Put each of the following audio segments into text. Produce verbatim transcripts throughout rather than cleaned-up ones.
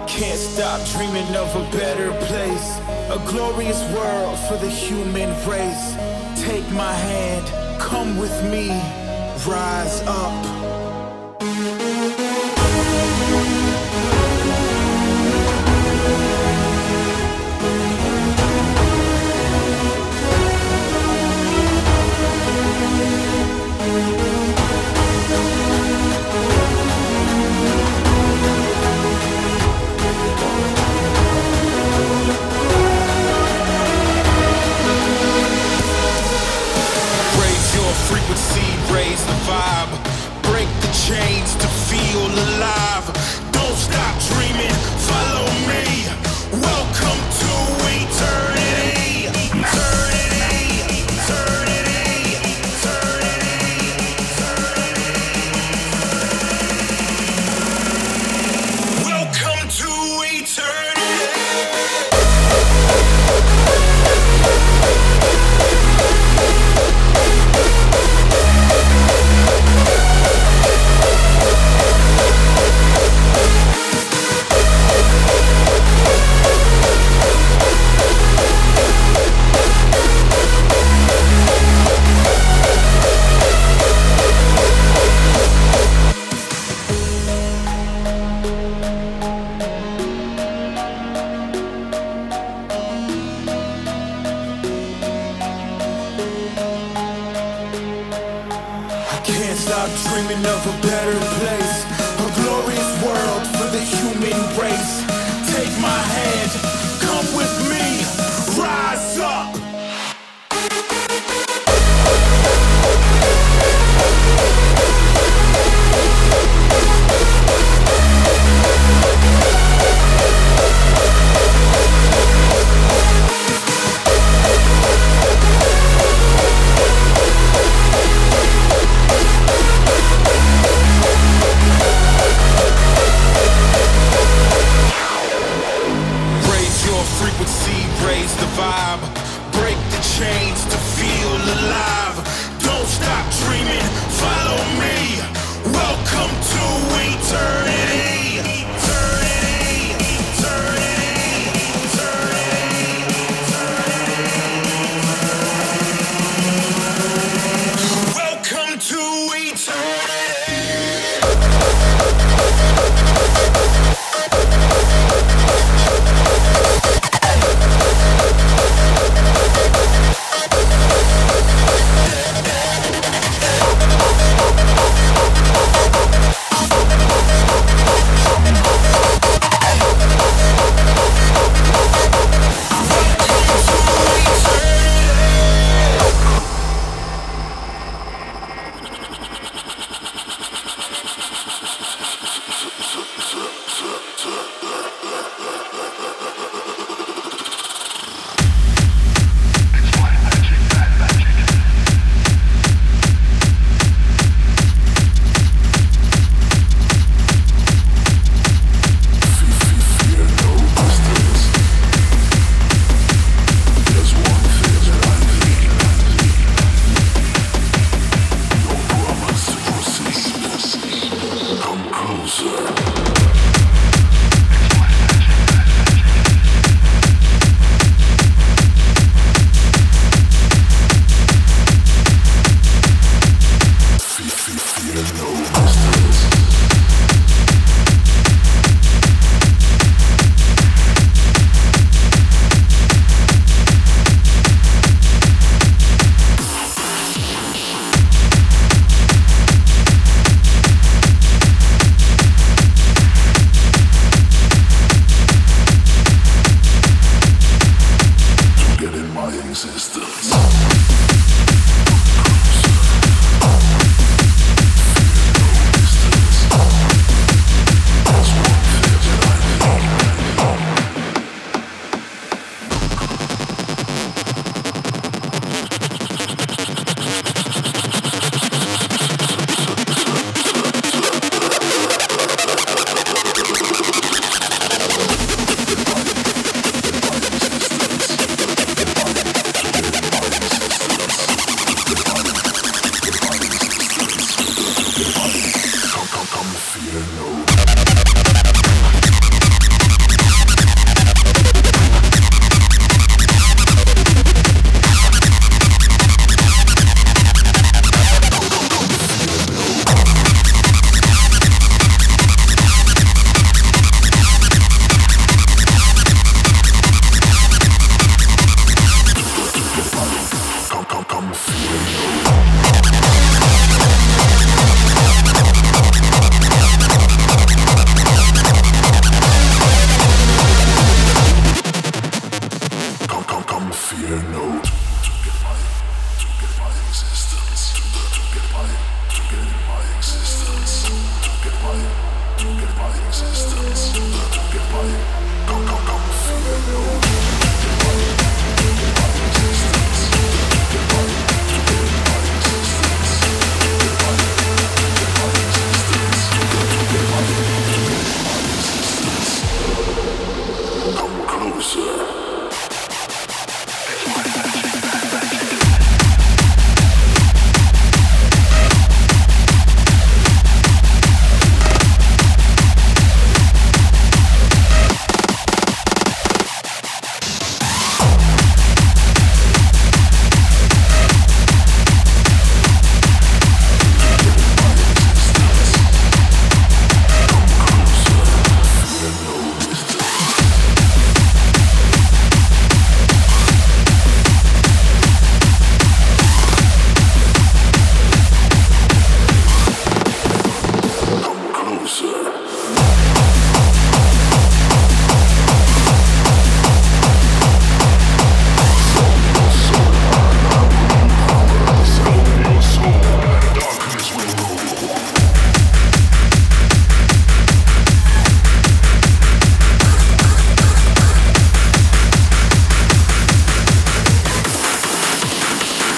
Can't stop dreaming of a better place, a glorious world for the human race. Take my hand, come with me, rise up. Frequency, raise the vibe, break the chains to feel alive. Don't stop dreaming, follow me. Welcome to eternity. Eternity, eternity, eternity, eternity. Welcome to eternity. Dreaming of a better place, a glorious world for the human race. Take my hand, come with me, rise up. Frequency, raise the vibe, break the chains to feel alive. Don't stop dreaming, follow me. Welcome to eternity. Eternity, eternity, eternity, eternity. Welcome to eternity.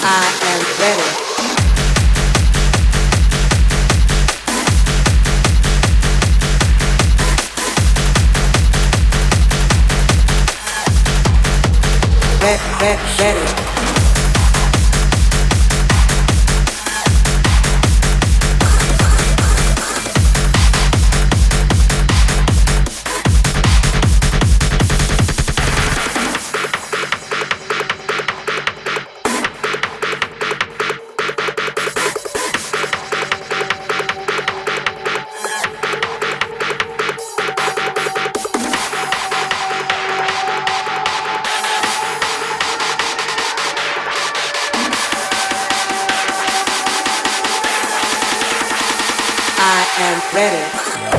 I am ready. Ready, ready, ready. I am ready.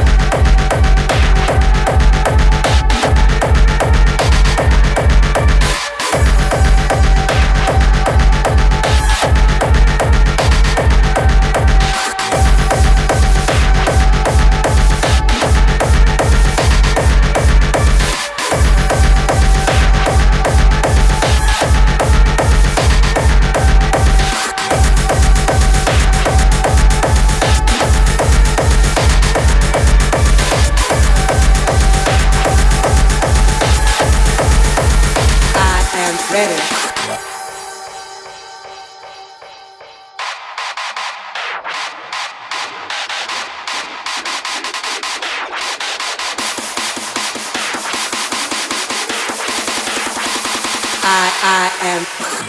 Ready. I I am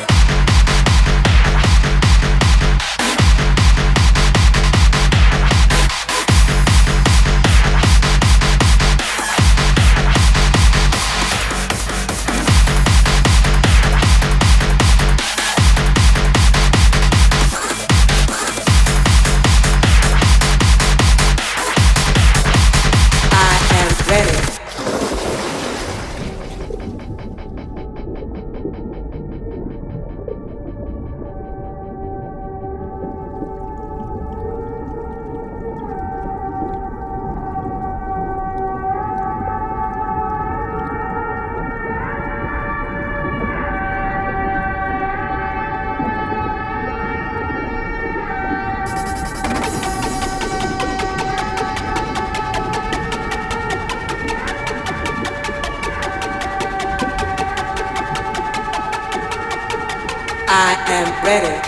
I am ready.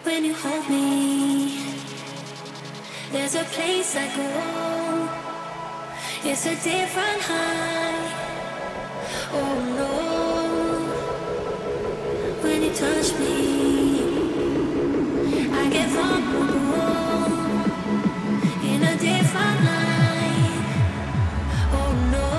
when you hold me. There's a place I go. It's a different high. Oh no. When you touch me, I get vulnerable in a different light. Oh no.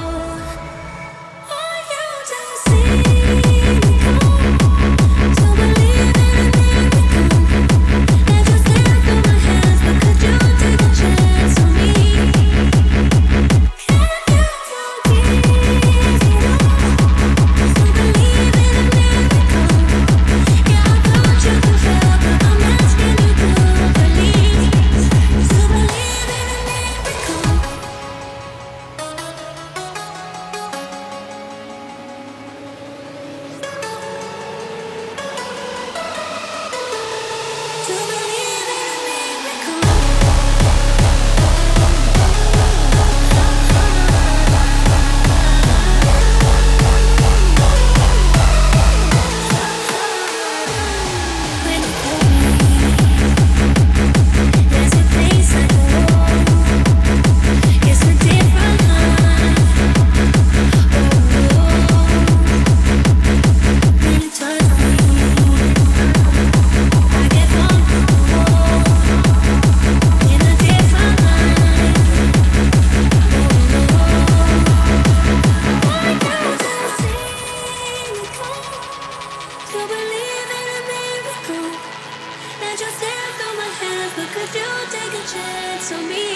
Are you to see me go? To believe in a miracle. Let you slip through my hands, but could you take a chance on me? Can you forgive me? To believe in a miracle. Yeah, I thought you could help, but I'm asking you to believe. To believe in a miracle. To believe in a miracle. When you hold me, there's a place I go. It's a different life. Oh no. When you touch me, I get vulnerable in a different light. Oh no. Want you to see me go. To believe in a miracle. Let you slip through my hands, but could you take a chance on me?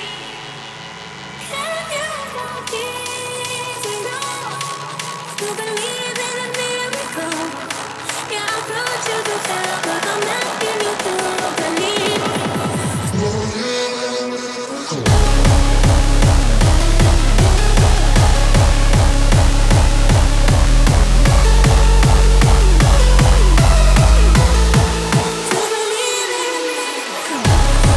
Can you forgive me? No. To believe in a miracle. Yeah, I thought you could help, but I'm asking you to believe. To believe in a miracle.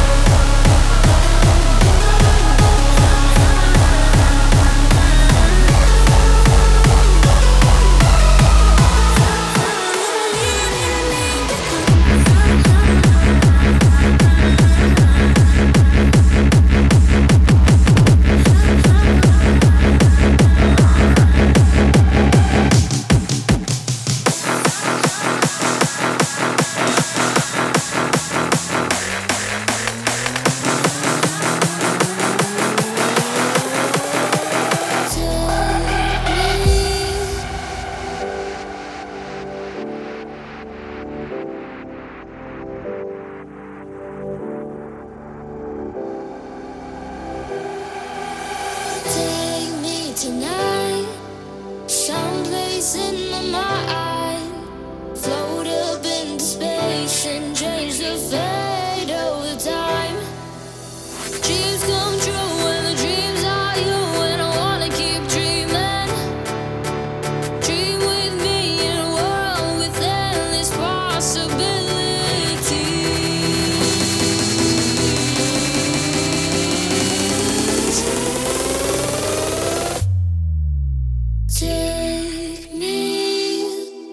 Take me tonight, someplace in my mind. Float up into space and change the fate of the time. Dreams come true when the dreams are you, and I wanna keep dreaming. Dream with me in a world with endless possibilities. Take me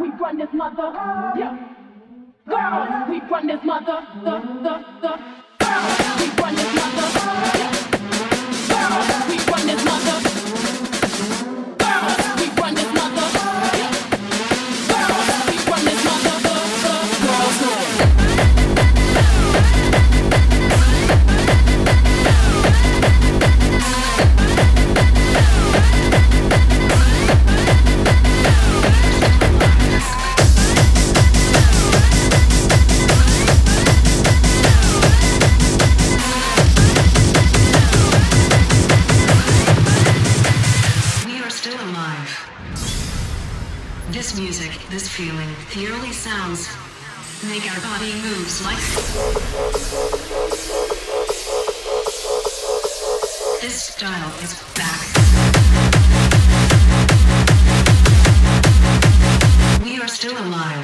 we run this mother. Yeah. Girls, we run this mother. The, the, the. Girls, we run this mother. Yeah. Girls, we run this mother. Girls, we run this mother. Yeah. Girls, we run this mother. The, the. Girls, no. This music, this feeling, the early sounds make our body moves like this style is back. We are still alive.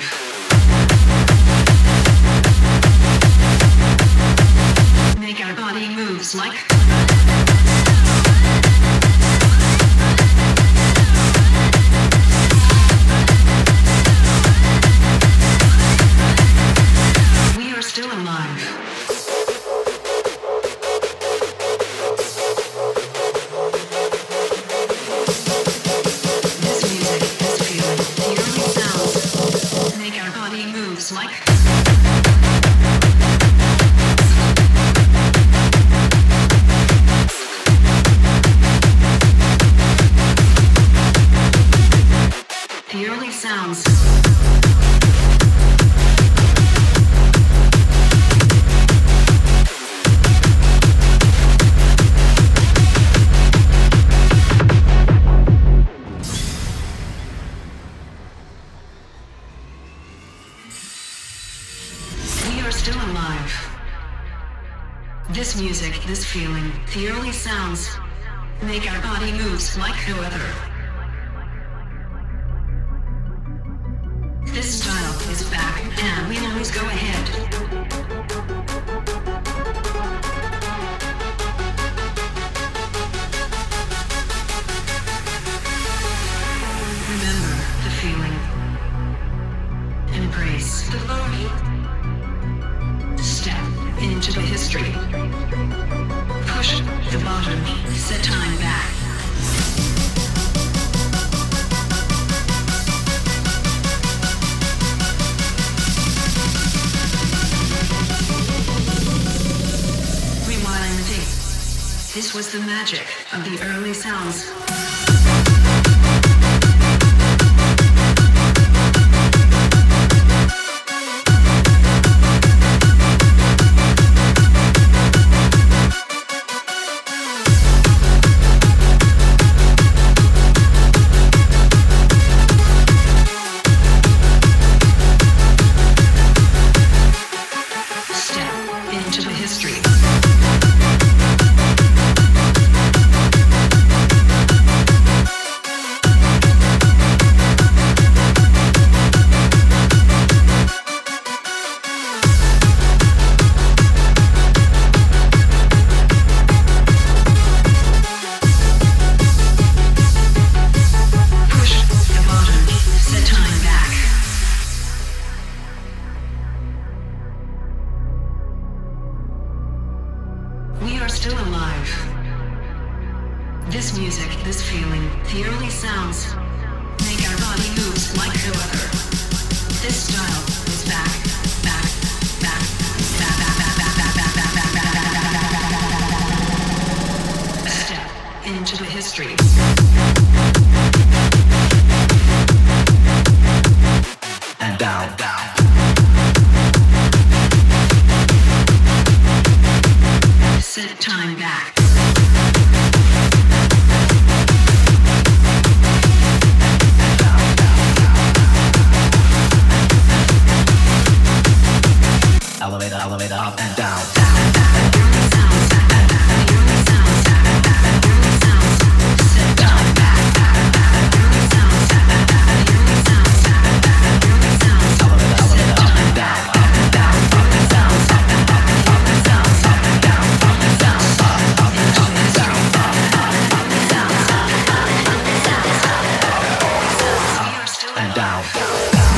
Make our body moves like still alive. This music, this feeling, the early sounds make our body moves like the early sounds. This music, this feeling, the early sounds make our body moves like no other. This style is back and we always go ahead. Remember the feeling. Embrace the glory. Step into the history. Push the button, set time back. Rewind the tape. This was the magic of the early sounds. and down.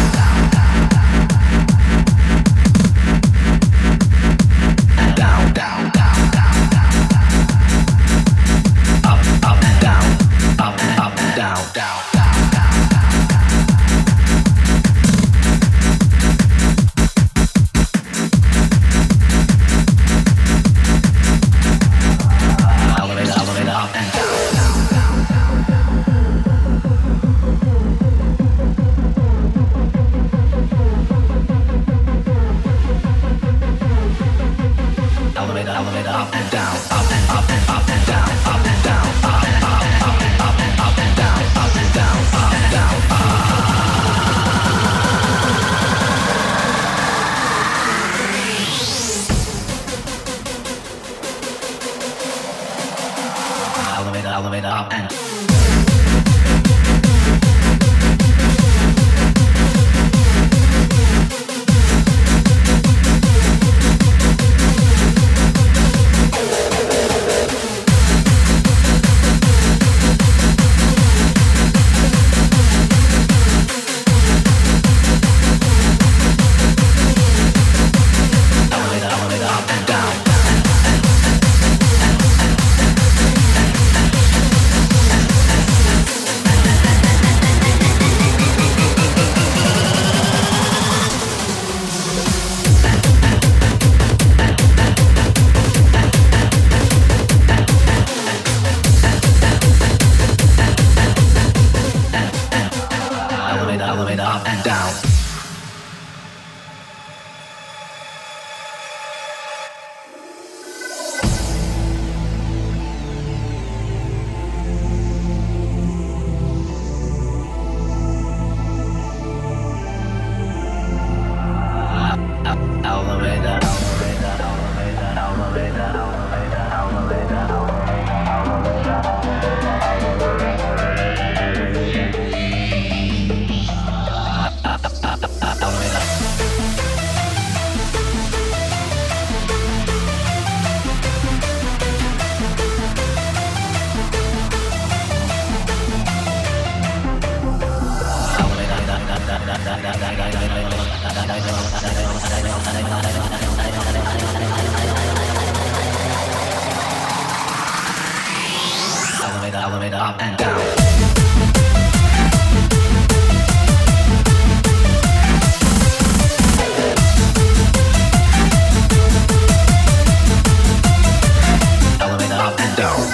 elevator up and down, up and up and up and down, up and down, up and up and up and up and up and down, up and down, up and down, elevator, elevator up and elevator up and down. Elevator up and down.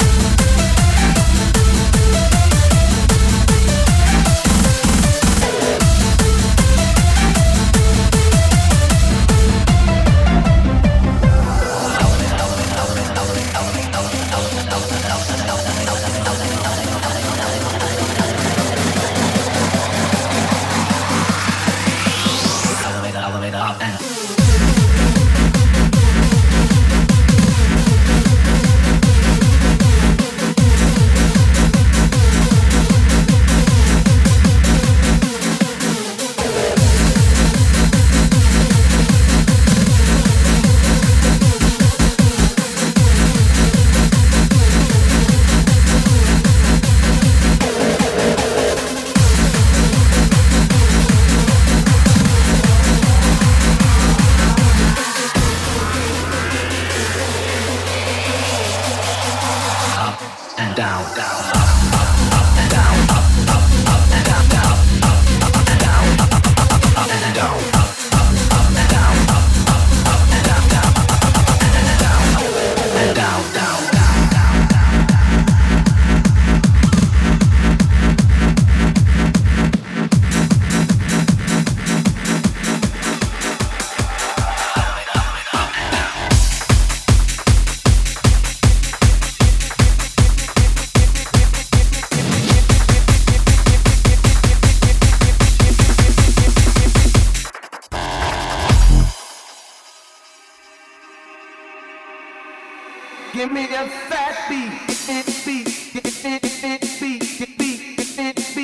Give me that fat beat, beat, beat, beat, beat, beat, beat, beat,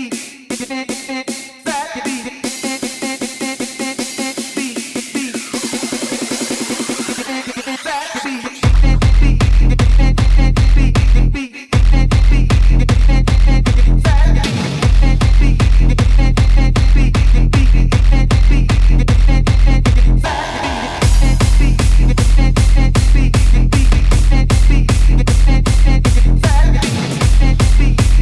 beat, fat beat, beat.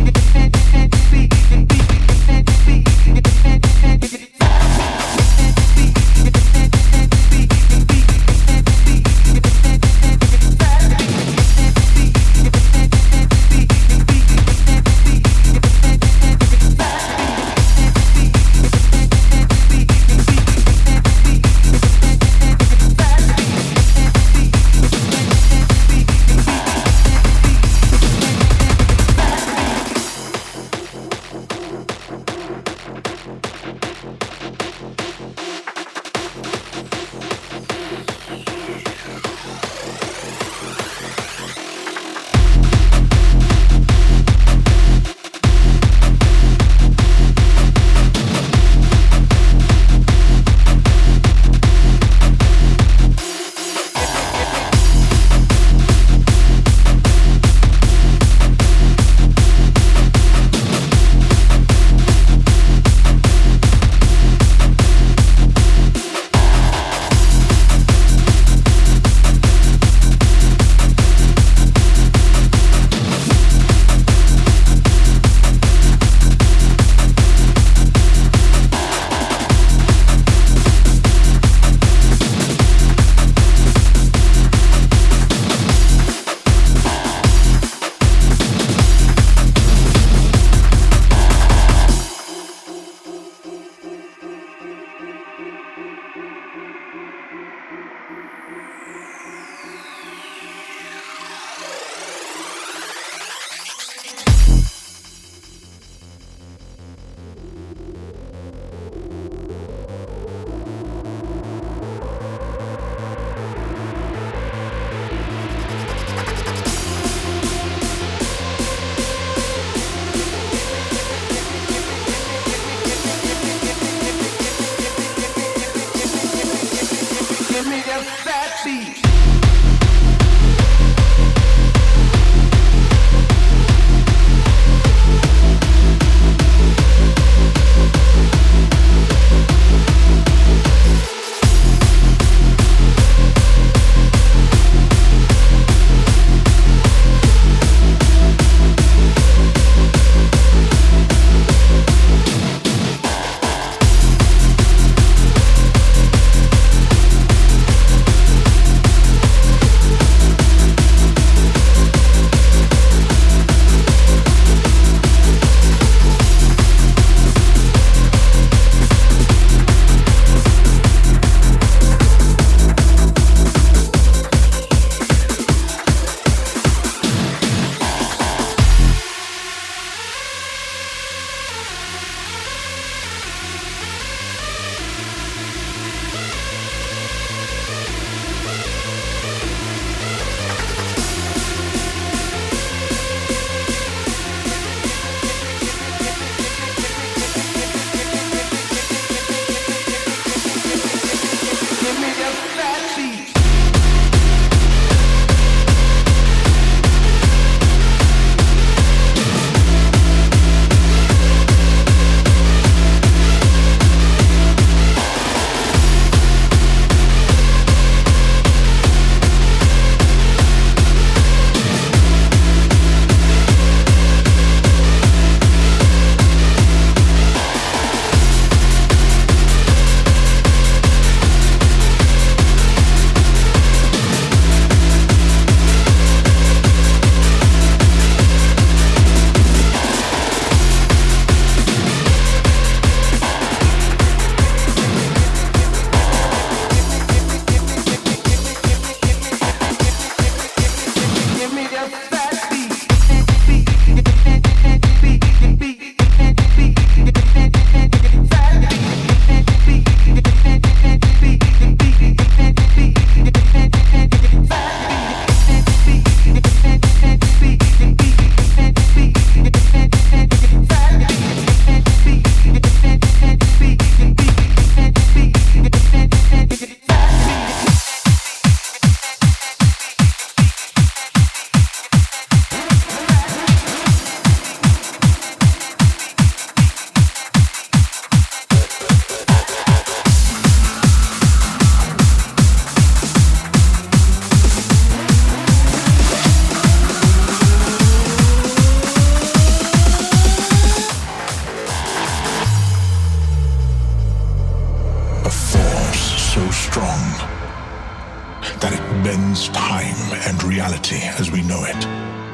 bends time and reality as we know it.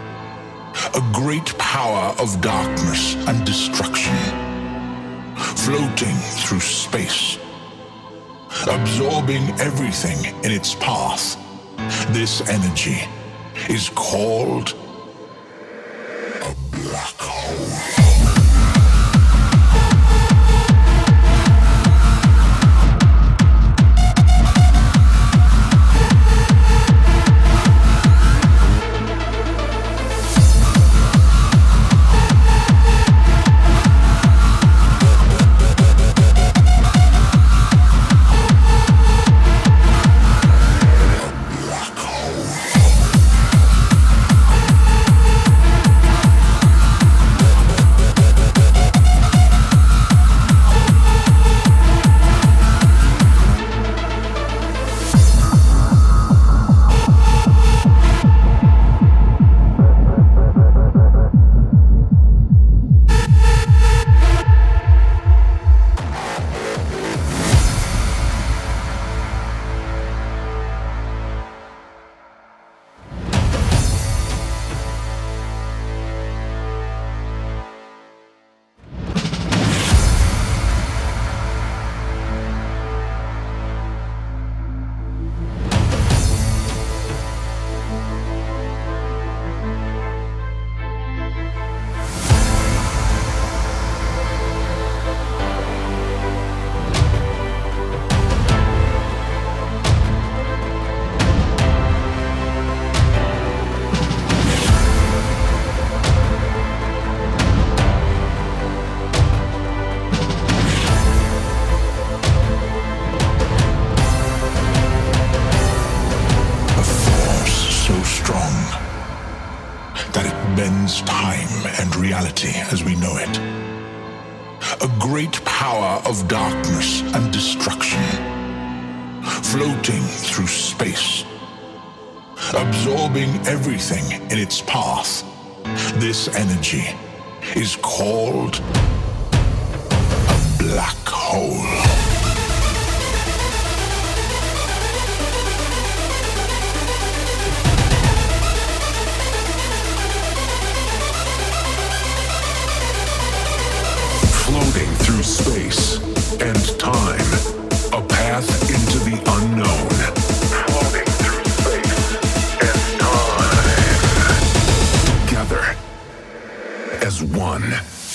A great power of darkness and destruction, floating through space, absorbing everything in its path. This energy is called a black hole. bends time and reality as we know it. A great power of darkness and destruction, floating through space, absorbing everything in its path. This energy is called a black hole. Floating through space and time, a path into the unknown. Floating through space and time, together as one.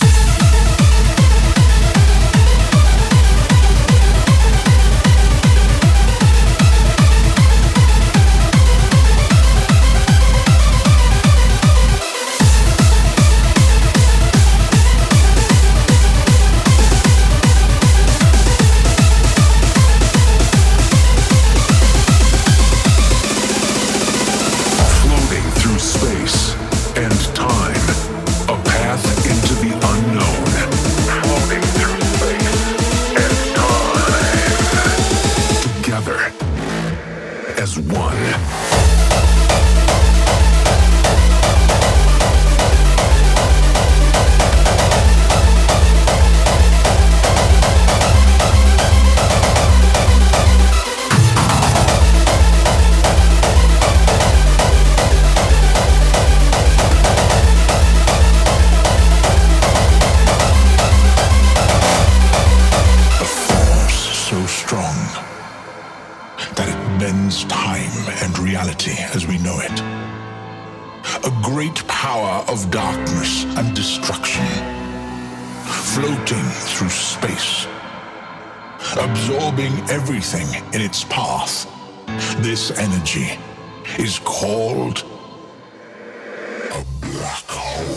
As we know it. A great power of darkness and destruction, floating through space, absorbing everything in its path. This energy is called a black hole.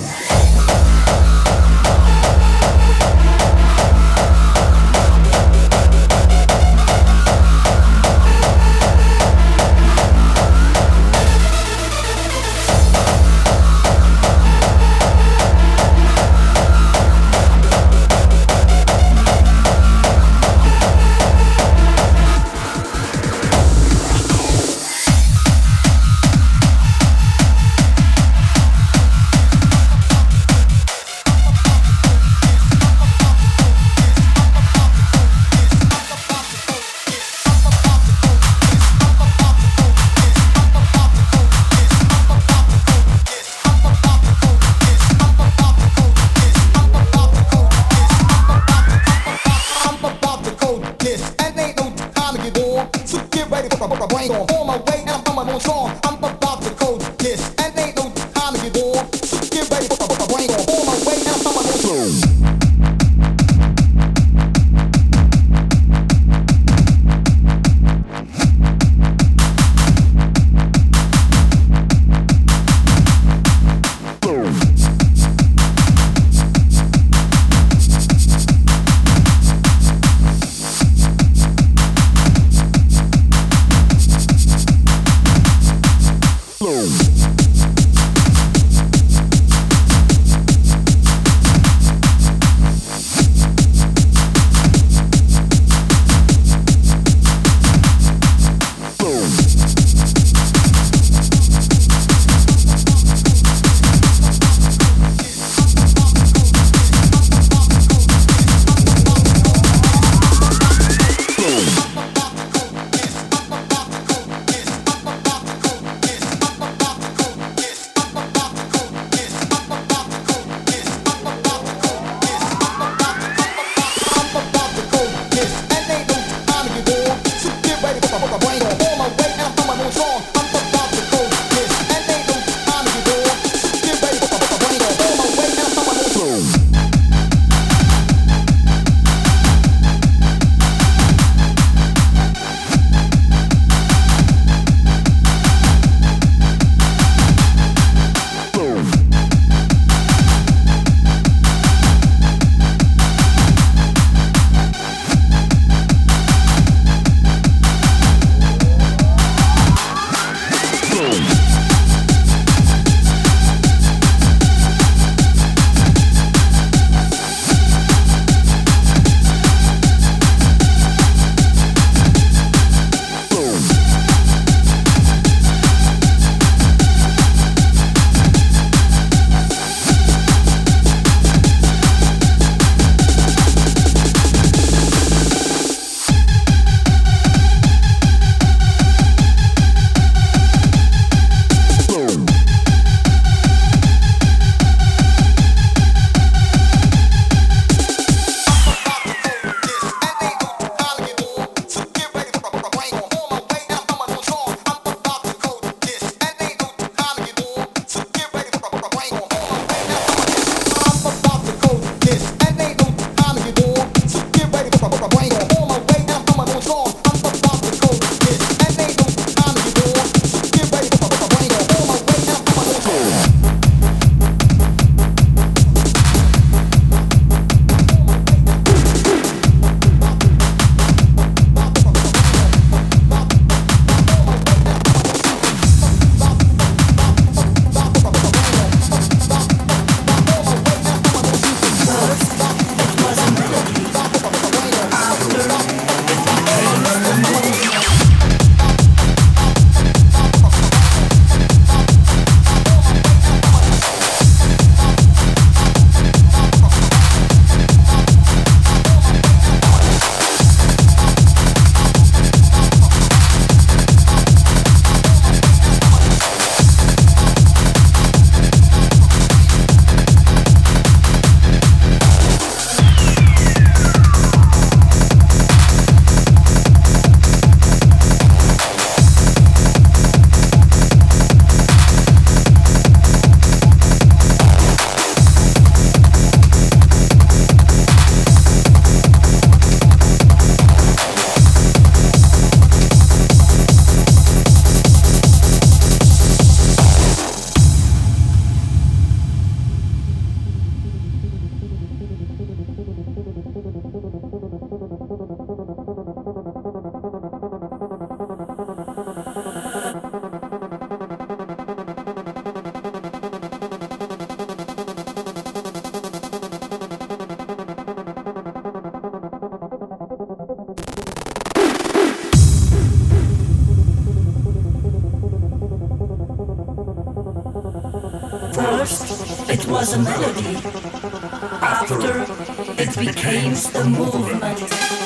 First, it was a melody. After, it became the movement.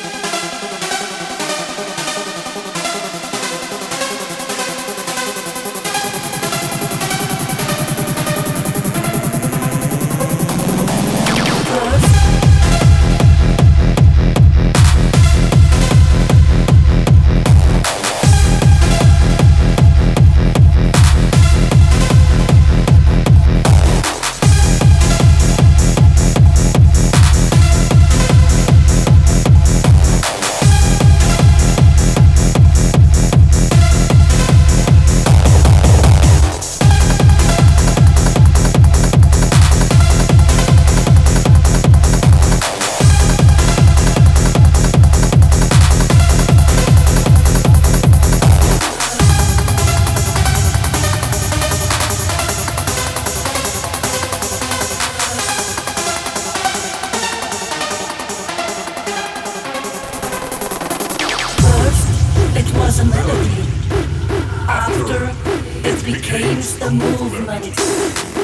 Was a melody. After, it became the movement.